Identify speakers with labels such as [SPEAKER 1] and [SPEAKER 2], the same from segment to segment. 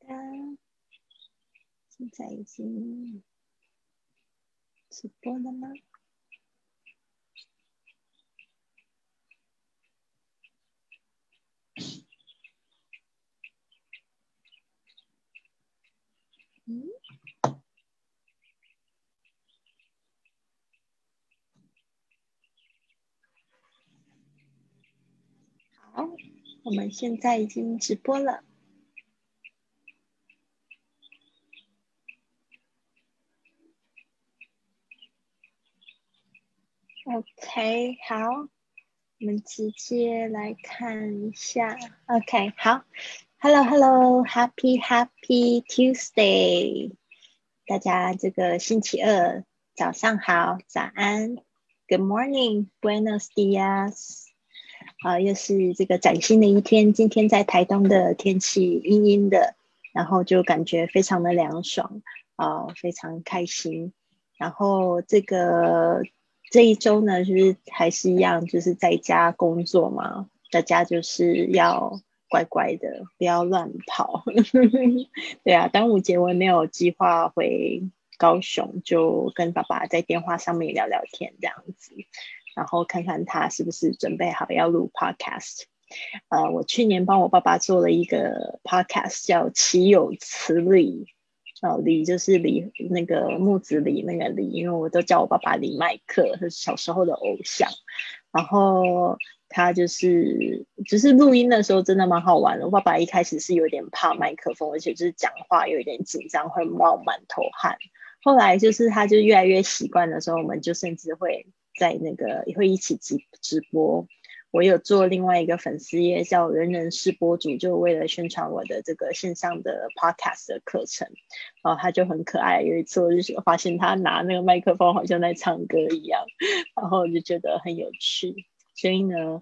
[SPEAKER 1] 的，现在已经直播了吗？好，我们现在已经直播了。OK， 好，我们直接来看一下。OK， 好 ，Hello，Happy Tuesday， 大家这个星期二早上好，早安 ，Good morning，Buenos dias。又是这个崭新的一天。今天在台东的天气阴阴的，然后就感觉非常的凉爽，非常开心。然后这一周呢，就是还是一样，就是在家工作嘛，大家就是要乖乖的，不要乱跑。对啊，端午节我也没有计划回高雄，就跟爸爸在电话上面聊聊天这样子。然后看看他是不是准备好要录 podcast。我去年帮我爸爸做了一个 podcast，叫岂有此理。李就是李那个木子李那个李，因为我都叫我爸爸李麦克，是小时候的偶像。然后他就是录音的时候真的蛮好玩的。我爸爸一开始是有点怕麦克风，而且就是讲话有一点紧张，会冒满头汗。后来就是他就越来越习惯的时候，我们就甚至会在那个会一起直播。我有做另外一个粉丝页叫人人是播主，就为了宣传我的这个线上的 podcast 的课程。他就很可爱，有一次我就发现他拿那个麦克风好像在唱歌一样，然后我就觉得很有趣。所以呢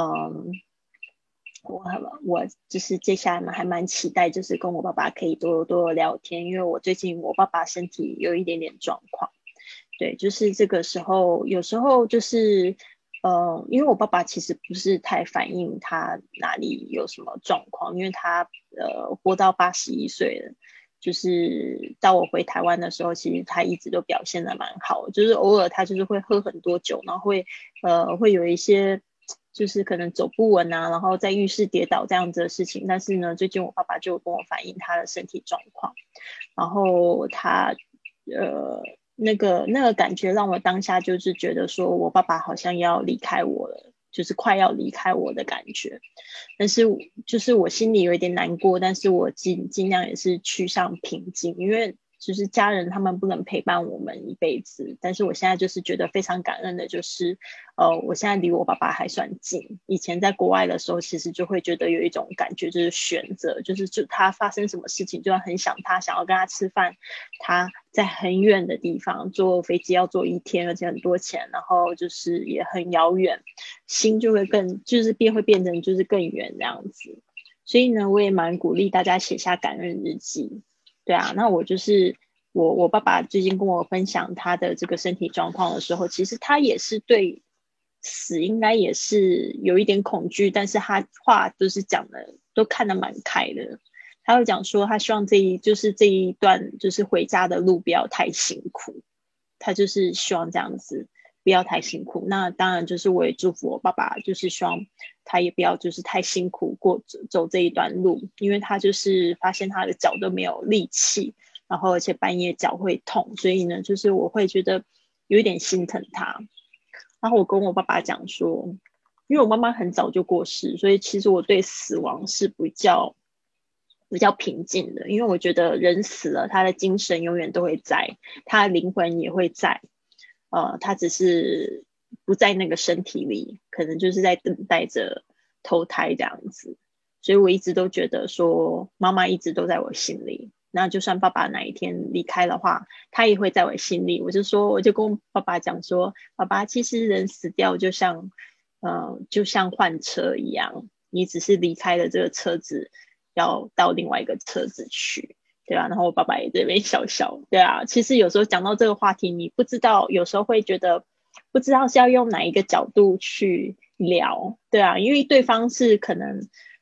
[SPEAKER 1] 我就是接下来还蛮期待，就是跟我爸爸可以多多聊天，因为我最近我爸爸身体有一点点状况。对，就是这个时候有时候就是因为我爸爸其实不是太反映他哪里有什么状况，因为他活到81岁了，就是到我回台湾的时候，其实他一直都表现得蛮好，就是偶尔他就是会喝很多酒，然后会有一些就是可能走不稳啊，然后在浴室跌倒这样子的事情。但是呢，最近我爸爸就跟我反映他的身体状况，然后他那个感觉让我当下就是觉得说我爸爸好像要离开我了，就是快要离开我的感觉。但是就是我心里有一点难过，但是我尽量也是趋向平静，因为就是家人他们不能陪伴我们一辈子。但是我现在就是觉得非常感恩的，就是我现在离我爸爸还算近。以前在国外的时候，其实就会觉得有一种感觉，就是悬着，就他发生什么事情，就要很想他，想要跟他吃饭，他在很远的地方，坐飞机要坐1天，而且很多钱，然后就是也很遥远，心就会会变成就是更远这样子。所以呢，我也蛮鼓励大家写下感恩日记。对啊，那我就是我爸爸最近跟我分享他的这个身体状况的时候，其实他也是对死应该也是有一点恐惧，但是他话就是讲的都看得蛮开的。他会讲说他希望这一段就是回家的路不要太辛苦，他就是希望这样子不要太辛苦。那当然就是我也祝福我爸爸，就是希望他也不要就是太辛苦走这一段路，因为他就是发现他的脚都没有力气，然后而且半夜脚会痛，所以呢就是我会觉得有一点心疼他。然后我跟我爸爸讲说，因为我妈妈很早就过世，所以其实我对死亡是比较平静的，因为我觉得人死了，他的精神永远都会在，他的灵魂也会在，他只是不在那个身体里，可能就是在等待着投胎这样子。所以我一直都觉得说，妈妈一直都在我心里。那就算爸爸哪一天离开的话，他也会在我心里。我就跟爸爸讲说，爸爸，其实人死掉就像换车一样，你只是离开了这个车子，要到另外一个车子去，对啊。然后我爸爸也在那边笑笑，对啊。其实有时候讲到这个话题，你不知道，有时候会觉得不知道是要用哪一个角度去聊，对啊。因为对方是可能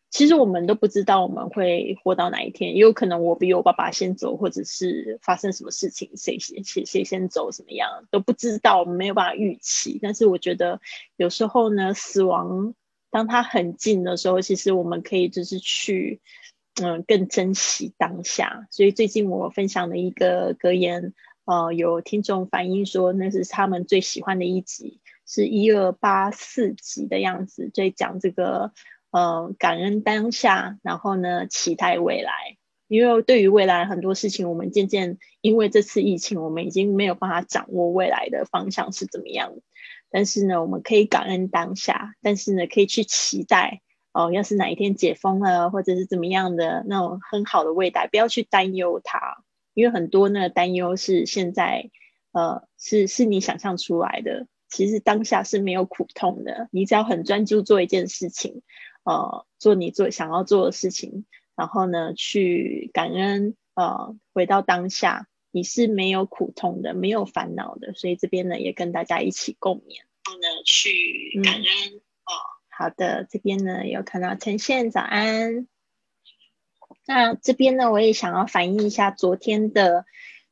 [SPEAKER 1] 其实我们都不知道我们会活到哪一天，也有可能我比我爸爸先走，或者是发生什么事情，谁先走，怎么样都不知道，我们没有办法预期。但是我觉得有时候呢，死亡当它很近的时候，其实我们可以就是去更珍惜当下。所以最近我分享的一个格言，有听众反映说那是他们最喜欢的一集，是1284集的样子，在讲这个感恩当下，然后呢期待未来。因为对于未来很多事情，我们渐渐因为这次疫情，我们已经没有办法掌握未来的方向是怎么样。但是呢，我们可以感恩当下，但是呢，可以去期待要是哪一天解封了，或者是怎么样的那种很好的未来，不要去担忧它，因为很多呢担忧是现在是你想象出来的。其实当下是没有苦痛的，你只要很专注做一件事情，做你想要做的事情，然后呢去感恩，回到当下，你是没有苦痛的，没有烦恼的。所以这边呢也跟大家一起共勉，然后呢去感恩。好的，这边呢有看到呈现，早安。那这边呢我也想要反映一下昨天的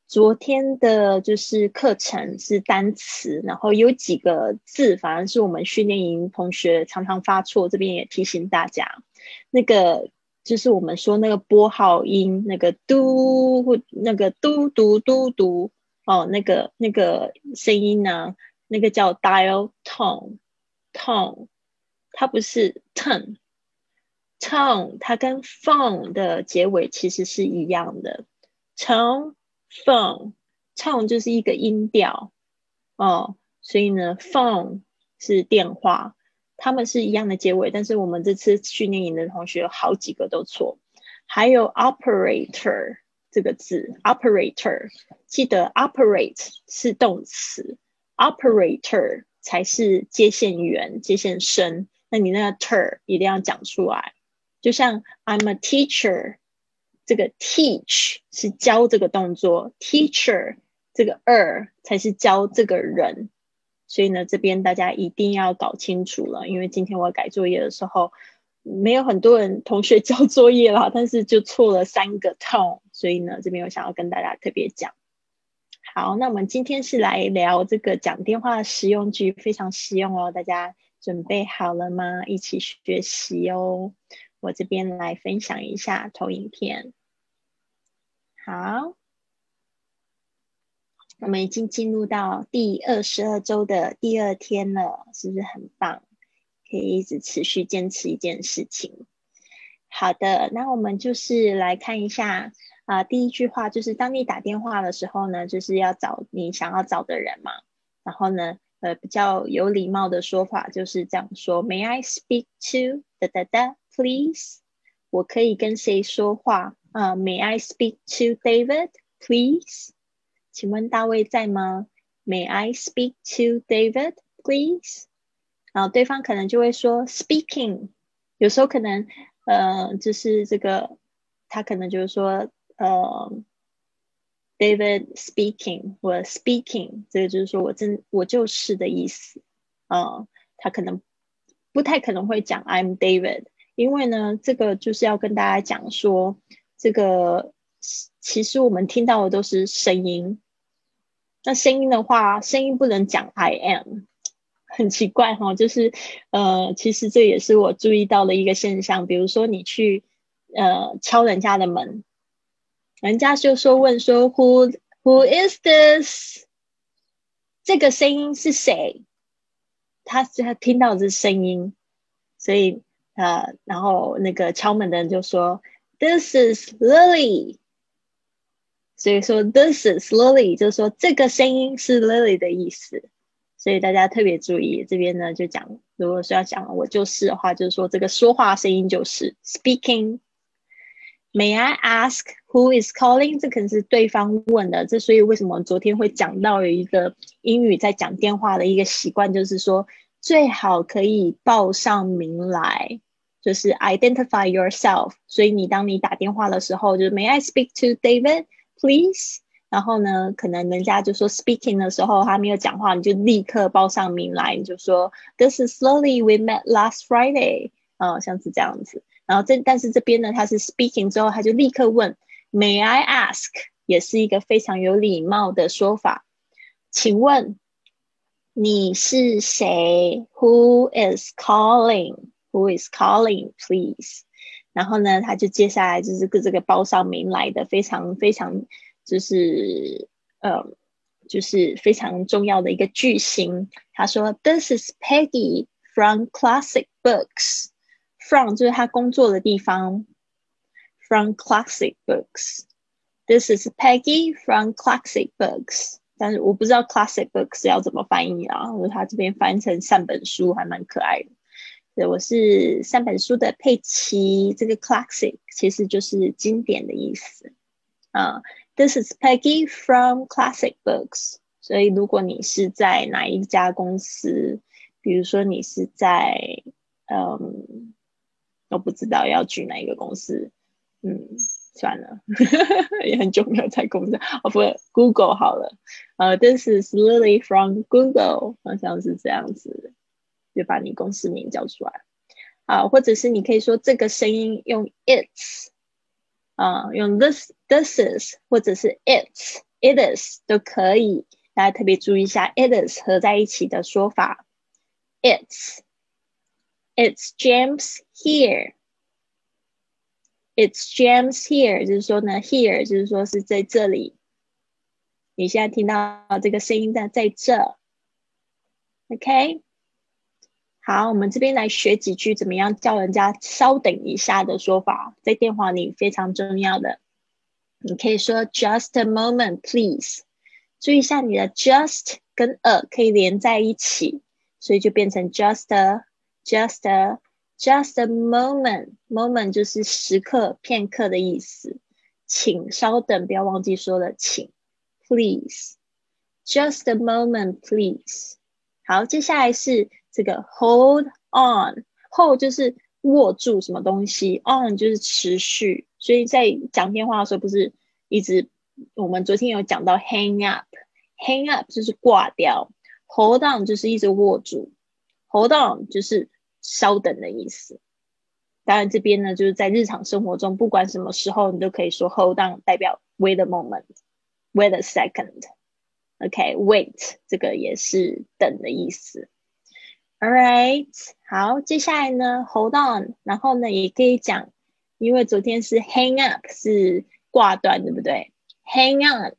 [SPEAKER 1] 就是课程是单词，然后有几个字反而是我们训练营同学常常发错，这边也提醒大家，那个就是我们说那个拨号音，那个嘟或那个嘟嘟嘟嘟那个声音呢，那个叫 dial tone，它不是 tone，它跟 phone 的结尾其实是一样的。tone 就是一个音调所以呢 phone 是电话，他们是一样的结尾，但是我们这次训练营的同学有好几个都错。还有 operator 这个字 operator， 记得 operate 是动词， operator 才是接线员接线生，那你那个 ter 一定要讲出来。就像 I'm a teacher， 这个 teach 是教这个动作， teacher 这个才是教这个人。所以呢这边大家一定要搞清楚了，因为今天我改作业的时候没有很多人同学交作业啦，但是就错了3个 tone， 所以呢这边我想要跟大家特别讲。好，那我们今天是来聊这个讲电话的实用句，非常实用哦，大家准备好了吗？一起学习哦。我这边来分享一下投影片。好，我们已经进入到第22周的第2天了，是不是很棒？可以一直持续坚持一件事情。好的，那我们就是来看一下第一句话就是当你打电话的时候呢，就是要找你想要找的人嘛。然后呢比较有礼貌的说法就是这样说 May I speak to please？ 我可以跟谁说话May I speak to David please？ 请问大卫在吗？ May I speak to David please？ 然后对方可能就会说 speaking， 有时候可能就是这个他可能就是说David speaking 或 speaking， 这个就是说我就是的意思他可能不太可能会讲 I'm David， 因为呢这个就是要跟大家讲说这个其实我们听到的都是声音，那声音的话声音不能讲 I am， 很奇怪就是其实这也是我注意到的一个现象，比如说你去敲人家的门，人家就问说 Who is this？ 这个声音是谁？他听到这声音，所以然后那个敲门的人就说 This is Lily， 所以说 This is Lily 就是说这个声音是 Lily 的意思。所以大家特别注意，这边呢就讲，如果说要讲我就是的话，就是说这个说话声音就是 speaking。May I ask who is calling？ 这可能是对方问的，这所以为什么昨天会讲到有一个英语在讲电话的一个习惯，就是说最好可以报上名来，就是 identify yourself。 所以当你打电话的时候，就是 May I speak to David please？ 然后呢可能人家就说 speaking 的时候他没有讲话，你就立刻报上名来，你就说 This is Lily, we met last Friday，像是这样子。 然后但是这边呢，他是 speaking 之后，他就立刻问 May I ask， 也是一个非常有礼貌的说法。请问你是谁 ？Who is calling? Who is calling, please？ 然后呢，他就接下来就是这个报上名来的非常非常就是非常重要的一个句型。他说 This is Peggy from Classic Books。From 就是他工作的地方 From Classic Books。 This is Peggy from Classic Books。 但是我不知道 Classic Books 要怎么翻译啊，他这边翻成三本书还蛮可爱的。对，我是三本书的佩奇，这个 Classic 其实就是经典的意思。This is Peggy from Classic Books。 所以如果你是在哪一家公司，比如说你是在我不知道要举哪一个公司，算了也很久没有在公司，不 Google 好了。This is Lily from Google， 好像是这样子，就把你公司名叫出来。或者是你可以说这个声音用 its，用 this is 或者是 it is 都可以。大家特别注意一下 it is 合在一起的说法。It's James here。 It's James here 就是说呢 here 就是说是在这里，你现在听到这个声音在这。 OK， 好，我们这边来学几句怎么样叫人家稍等一下的说法，在电话里非常重要的。你可以说 Just a moment please。 注意一下你的 just 跟 a 可以连在一起，所以就变成 just a moment。 moment 就是时刻片刻的意思，请稍等，不要忘记说了请。 Please Just a moment please。 好，接下来是这个 hold on。 hold 就是握住什么东西， on 就是持续，所以在讲电话的时候不是一直，我们昨天有讲到 hang up 就是挂掉， hold on 就是一直握住， hold on 就是稍等的意思。当然这边呢，就是在日常生活中不管什么时候你都可以说 hold on， 代表 wait a moment， wait a second。OK， wait 这个也是等的意思。 Alright， 好，接下来呢 hold on， 然后呢也可以讲，因为昨天是 hang up 是挂断，对不对？ hang on，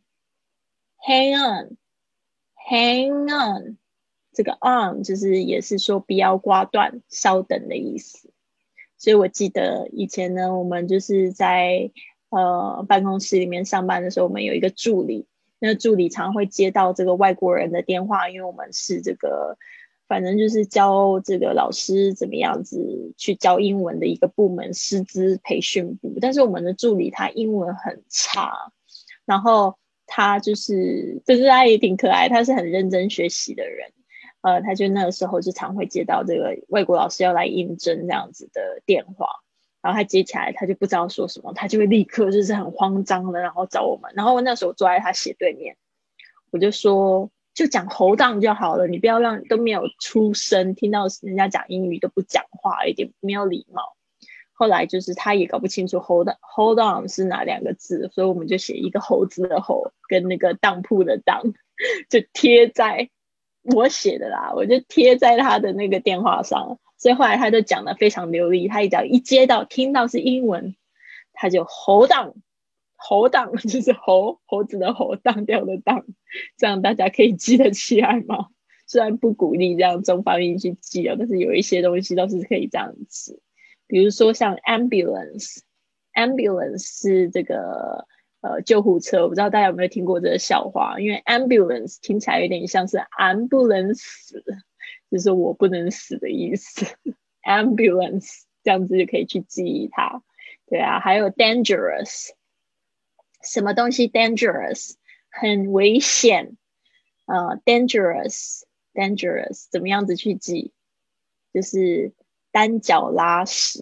[SPEAKER 1] 这个 on 就是也是说不要挂断，稍等的意思。所以我记得以前呢，我们就是在办公室里面上班的时候，我们有一个助理，那个助理常会接到这个外国人的电话，因为我们是这个反正就是教这个老师怎么样子去教英文的一个部门，师资培训部。但是我们的助理他英文很差，然后他就是他也挺可爱，他是很认真学习的人。他就那个时候就常会接到这个外国老师要来应征这样子的电话，然后他接起来他就不知道说什么，他就会立刻就是很慌张的然后找我们。然后我那时候坐在他斜对面，我就说就讲hold on就好了，你不要让都没有出声，听到人家讲英语都不讲话，一点没有礼貌。后来就是他也搞不清楚 hold on 是哪两个字，所以我们就写一个猴子的猴跟那个当铺的当，就贴在我写的啦，我就贴在他的那个电话上。所以后来他就讲得非常流利，他只要一接到听到是英文，他就hold on 就是猴子的猴，当掉的当。这样大家可以记得起来吗？虽然不鼓励这样中发音去记但是有一些东西都是可以这样子。比如说像 ambulance 是这个救护车，我不知道大家有没有听过这个笑话，因为 ambulance 听起来有点像是俺不能死，就是我不能死的意思。ambulance 这样子就可以去记忆它。对啊，还有 dangerous， 什么东西 dangerous 很危险dangerous 怎么样子去记，就是单脚拉屎。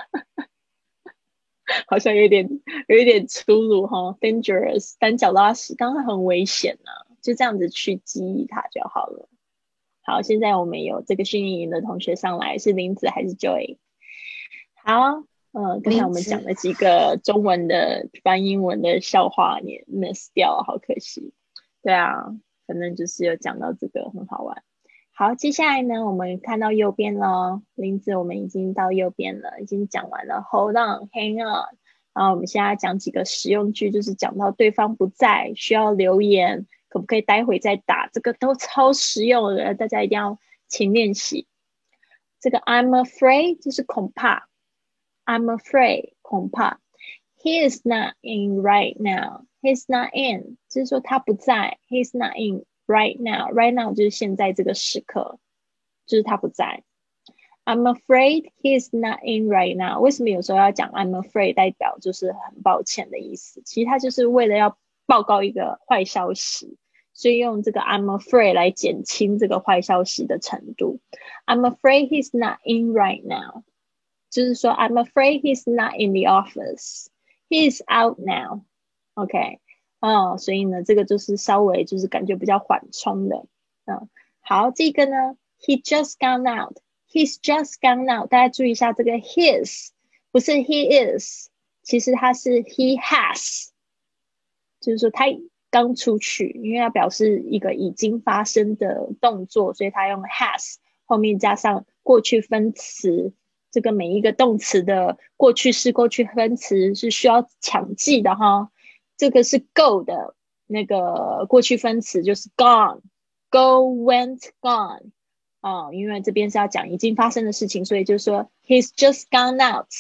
[SPEAKER 1] 好像有点粗鲁哈 dangerous 单脚拉屎当然很危险就这样子去记忆它就好了。好，现在我们有这个训练营的同学上来，是林子还是 Joy？ 好， 刚才我们讲了几个中文的翻英文的笑话，你 miss 掉，好可惜。对啊，反正就是有讲到这个，很好玩。好，接下来呢，我们看到右边了，林子我们已经到右边了，已经讲完了 hold on、hang on。然后我们现在讲几个实用句，就是讲到对方不在，需要留言，可不可以待会再打？这个都超实用的，大家一定要勤练习。这个 I'm afraid 就是恐怕。I'm afraid 恐怕 He is not in right now. He's not in 就是说他不在 He's not in right now. Right now 就是现在这个时刻，就是他不在。I'm afraid he's not in right now. 为什么有时候要讲 I'm afraid 代表就是很抱歉的意思，其实他就是为了要报告一个坏消息，所以用这个 I'm afraid 来减轻这个坏消息的程度。I'm afraid he's not in right now. 就是说 I'm afraid he's not in the office. He's out now. OK. 所以呢这个就是稍微就是感觉比较缓冲的。好，这个呢 He just gone out. He's just gone out. 大家注意一下这个 his 不是 he is， 其实它是 he has， 就是说他刚出去，因为要表示一个已经发生的动作，所以他用 has 后面加上过去分词。这个每一个动词的过去式、过去分词是需要强记的哈。这个是 go 的那个过去分词就是 gone， go went gone。因为这边是要讲已经发生的事情，所以就说 he's just gone out。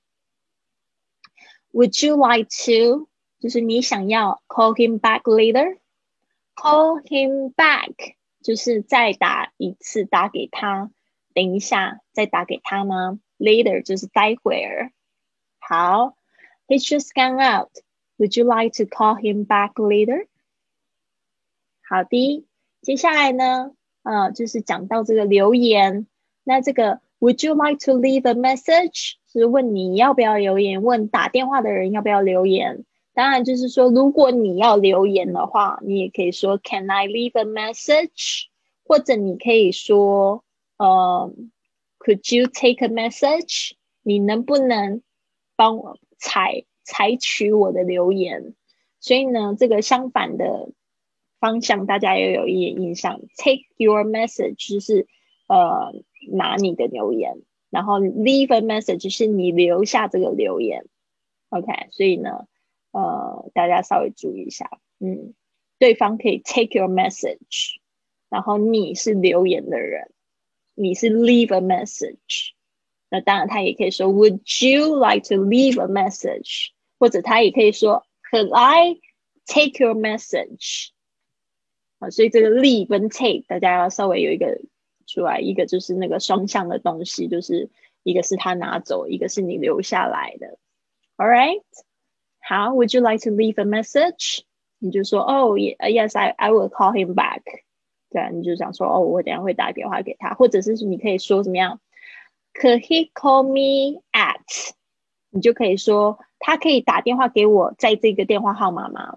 [SPEAKER 1] Would you like to 就是你想要 call him back later。 Call him back 就是再打一次，打给他，等一下再打给他吗？ Later 就是待会儿。好， He's just gone out. Would you like to call him back later？ 好的，接下来呢就是讲到这个留言。那这个 Would you like to leave a message 是问你要不要留言，问打电话的人要不要留言。当然就是说如果你要留言的话，你也可以说 Can I leave a message？ 或者你可以说Could you take a message？ 你能不能帮我采取我的留言？所以呢这个相反的方向大家也有一点印象。 Take your message 就是拿你的留言，然后 leave a message 是你留下这个留言。 OK， 所以呢大家稍微注意一下。对方可以 take your message， 然后你是留言的人，你是 leave a message。 那当然他也可以说 Would you like to leave a message？ 或者他也可以说 Could I take your message？所以这个 leave 跟 take 大家要稍微有一个出来，一个就是那个双向的东西，就是一个是他拿走，一个是你留下来的。 Alright， 好， Would you like to leave a message？ 你就说yes I will call him back。 对啊，你就想说我等一下会打电话给他，或者是你可以说怎么样 Could he call me at？ 你就可以说他可以打电话给我在这个电话号码吗？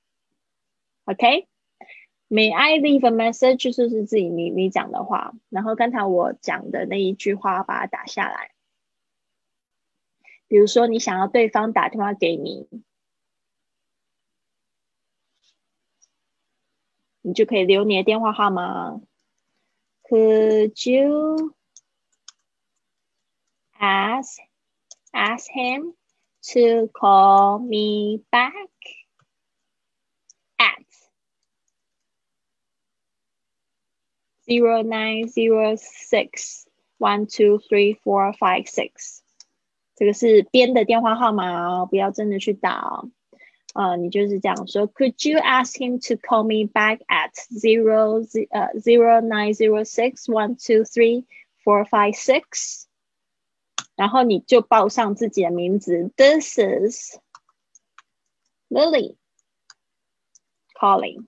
[SPEAKER 1] OK，May I leave a message？ 就是自己你讲的话，然后刚才我讲的那一句话把它打下来。比如说你想要对方打电话给你，你就可以留你的电话号码。 Could you ask him to call me back at 0906123456。这个是编的电话号码不要真的去打你就是这样说 Could you ask him to call me back at 0906123456？ 然后你就报上自己的名字 This is Lily calling。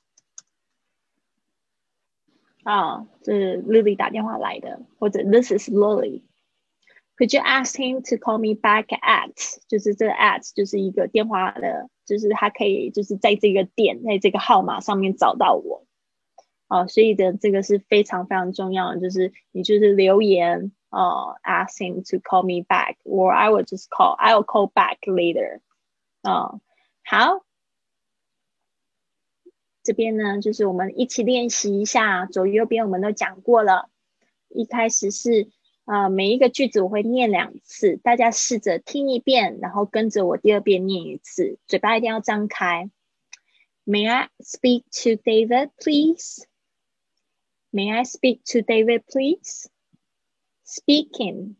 [SPEAKER 1] 这是 Lily 打电话来的，或者 This is Lily。Could you ask him to call me back at？ 就是这个 at 就是一个电话的，就是他可以就是在这个点，在这个号码上面找到我。所以的这个是非常非常重要的，就是你就是留言， ask him to call me back, or I'll call back later. 好，这边呢就是我们一起练习一下，左右边我们都讲过了。一开始是每一个句子我会念2次，大家试着听一遍，然后跟着我第2遍念一次，嘴巴一定要张开。May I speak to David, please? May I speak to David, please? Speaking.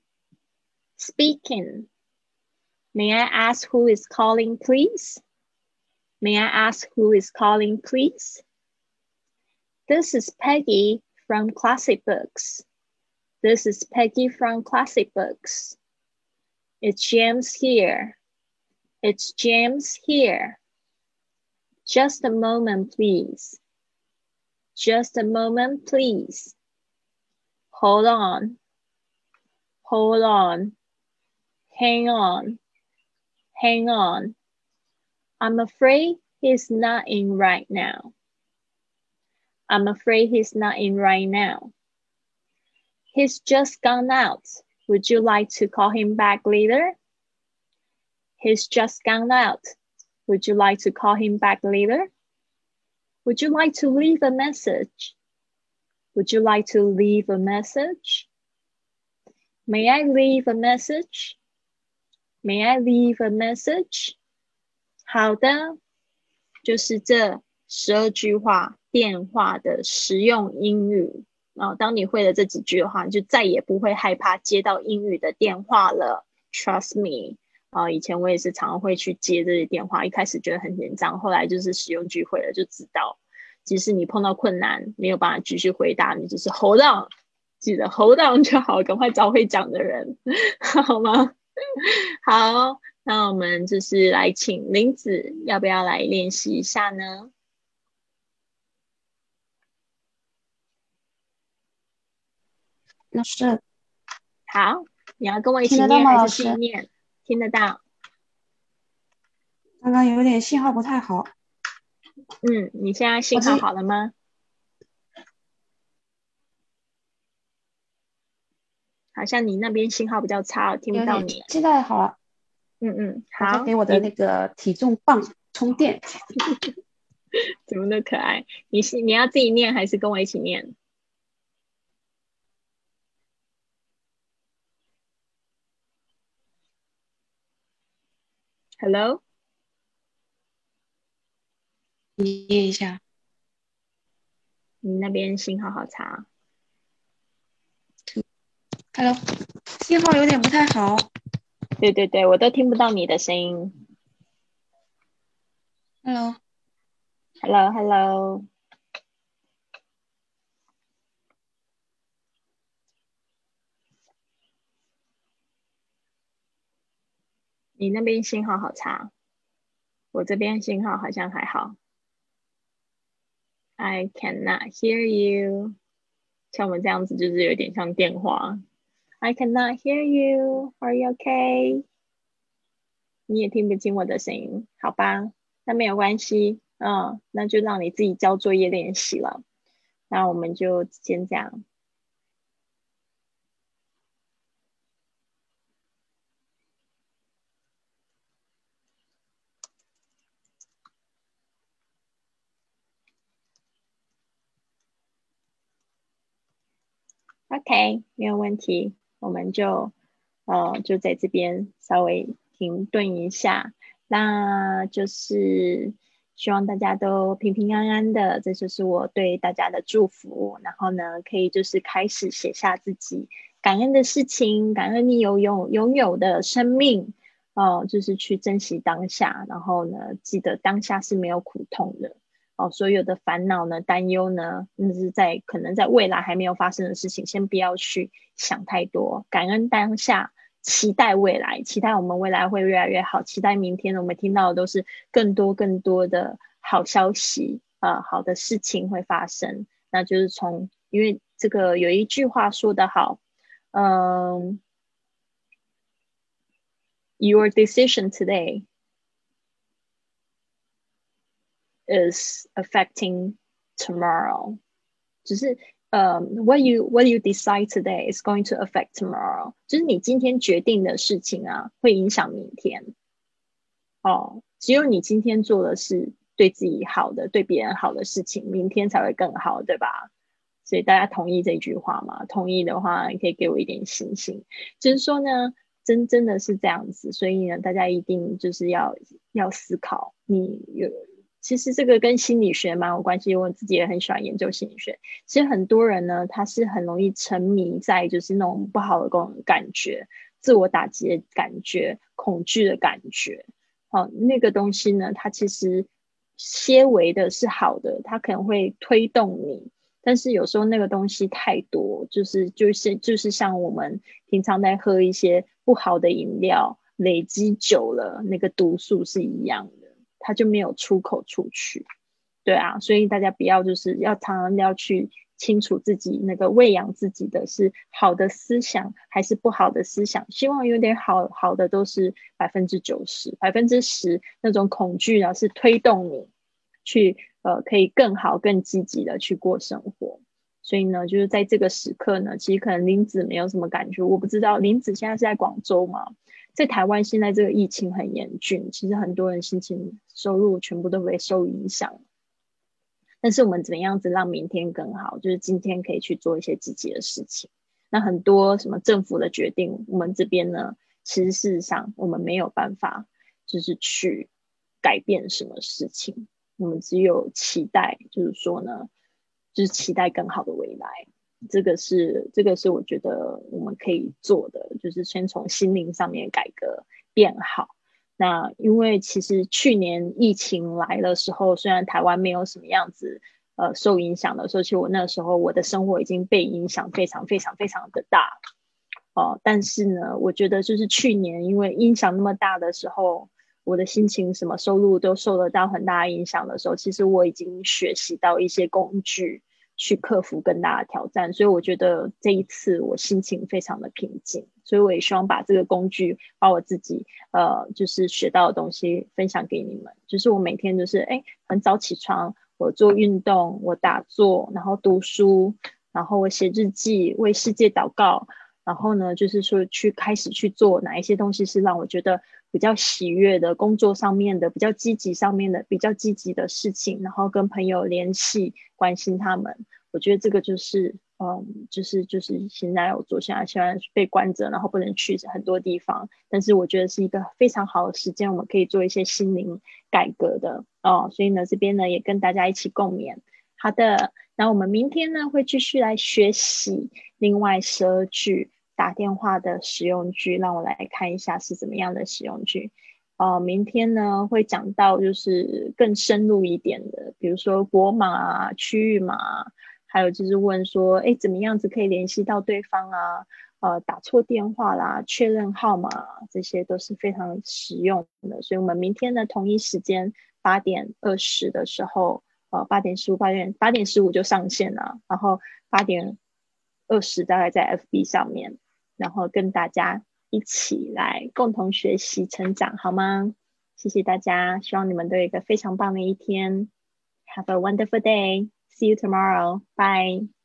[SPEAKER 1] May I ask who is calling, please? May I ask who is calling, please? This is Peggy from Classic Books. This is Peggy from Classic Books. It's James here. It's James here. Just a moment, please. Just a moment, please. Hold on. Hold on. Hang on. Hang on. I'm afraid he's not in right now. I'm afraid he's not in right now. He's just gone out. Would you like to call him back later? He's just gone out. Would you like to call him back later? Would you like to leave a message? Would you like to leave a message? May I leave a message? May I leave a message? 好的，就是这12句话电话的实用英语。当你会了这几句的话，你就再也不会害怕接到英语的电话了。Trust me。以前我也是常常会去接这些电话，一开始觉得很紧张，后来就是使用句会了就知道，即使你碰到困难没有办法继续回答，你就是 hold on， 记得 hold on 就好，赶快找会讲的人好吗？好，那我们就是来请林子，要不要来练习一下呢？
[SPEAKER 2] 老师，
[SPEAKER 1] 好，你要跟我一起念还是自己念？听得到。
[SPEAKER 2] 刚刚有点信号不太好。
[SPEAKER 1] 你现在信号好了吗？好像你那边信号比较差，听不到你。
[SPEAKER 2] 现在好了。
[SPEAKER 1] 好。
[SPEAKER 2] 我在给我的那个体重棒充电。
[SPEAKER 1] 怎么那可爱？你要自己念还是跟我一起念？Hello，
[SPEAKER 2] 你念一下。
[SPEAKER 1] 你那边信号好差。
[SPEAKER 2] Hello， 信号有点不太好。
[SPEAKER 1] 对，我都听不到你的声音。Hello。你那边信号好差，我这边信号好像还好。I cannot hear you。像我们这样子就是有点像电话。I cannot hear you. Are you okay? 你也听不清我的声音，好吧？那没有关系，那就让你自己交作业练习了。那我们就先这样。OK， 没有问题，我们就在这边稍微停顿一下，那就是希望大家都平平安安的，这就是我对大家的祝福。然后呢，可以就是开始写下自己感恩的事情，感恩你拥有的生命，就是去珍惜当下。然后呢，记得当下是没有苦痛的。所有的烦恼呢、担忧呢，那是可能在未来还没有发生的事情，先不要去想太多，感恩当下，期待未来，期待我们未来会越来越好，期待明天我们听到的都是更多的好消息，好的事情会发生。那就是因为这个有一句话说得好，Your decision today is affecting tomorrow， 就是 what you decide today is going to affect tomorrow， 就是你今天决定的事情啊，会影响明天。只有你今天做的是对自己好的、对别人好的事情，明天才会更好，对吧？所以大家同意这句话吗？同意的话，你可以给我一点星星。就是说呢，真的是这样子，所以呢，大家一定就是要思考，其实这个跟心理学蛮有关系，我自己也很喜欢研究心理学。其实很多人呢，他是很容易沉迷在就是那种不好的感觉、自我打击的感觉、恐惧的感觉。那个东西呢，它其实些微的是好的，它可能会推动你，但是有时候那个东西太多，就是像我们平常在喝一些不好的饮料，累积久了，那个毒素是一样的，它就没有出口出去。对啊，所以大家不要就是要常常要去清楚自己那个喂养自己的是好的思想还是不好的思想，希望有点好的都是90%，10%那种恐惧呢是推动你去可以更好更积极的去过生活。所以呢，就是在这个时刻呢，其实可能林子没有什么感觉，我不知道林子现在是在广州吗？在台湾现在这个疫情很严峻，其实很多人心情收入全部都会受影响。但是我们怎么样子让明天更好，就是今天可以去做一些积极的事情。那很多什么政府的决定，我们这边呢，其实事实上我们没有办法就是去改变什么事情，我们只有期待，就是说呢，就是期待更好的未来。这个是我觉得我们可以做的，就是先从心灵上面改革变好。那因为其实去年疫情来的时候，虽然台湾没有什么样子受影响的时候，其实我那时候我的生活已经被影响非常非常非常的大。但是呢，我觉得就是去年因为影响那么大的时候，我的心情什么收入都受得到很大影响的时候，其实我已经学习到一些工具去克服更大的挑战，所以我觉得这一次我心情非常的平静，所以我也希望把这个工具，把我自己就是学到的东西分享给你们。就是我每天就是很早起床，我做运动，我打坐，然后读书，然后我写日记，为世界祷告，然后呢就是说开始去做哪一些东西是让我觉得比较喜悦的，工作上面的比较积极上面的比较积极的事情，然后跟朋友联系，关心他们。我觉得这个就是现在我做，现在被关着，然后不能去很多地方，但是我觉得是一个非常好的时间，我们可以做一些心灵改革的所以呢这边呢也跟大家一起共勉。好的，那我们明天呢会继续来学习另外12句打电话的使用句，让我来看一下是怎么样的使用句。明天呢会讲到就是更深入一点的，比如说国码啊、区域码啊，还有就是问说怎么样子可以联系到对方啊，打错电话啦、确认号码这些都是非常实用的。所以我们明天的同一时间8:20的时候8:15就上线了，然后8:20大概在 FB 上面，然后跟大家一起来共同学习成长，好吗？谢谢大家，希望你们都有一个非常棒的一天。Have a wonderful day. See you tomorrow. Bye.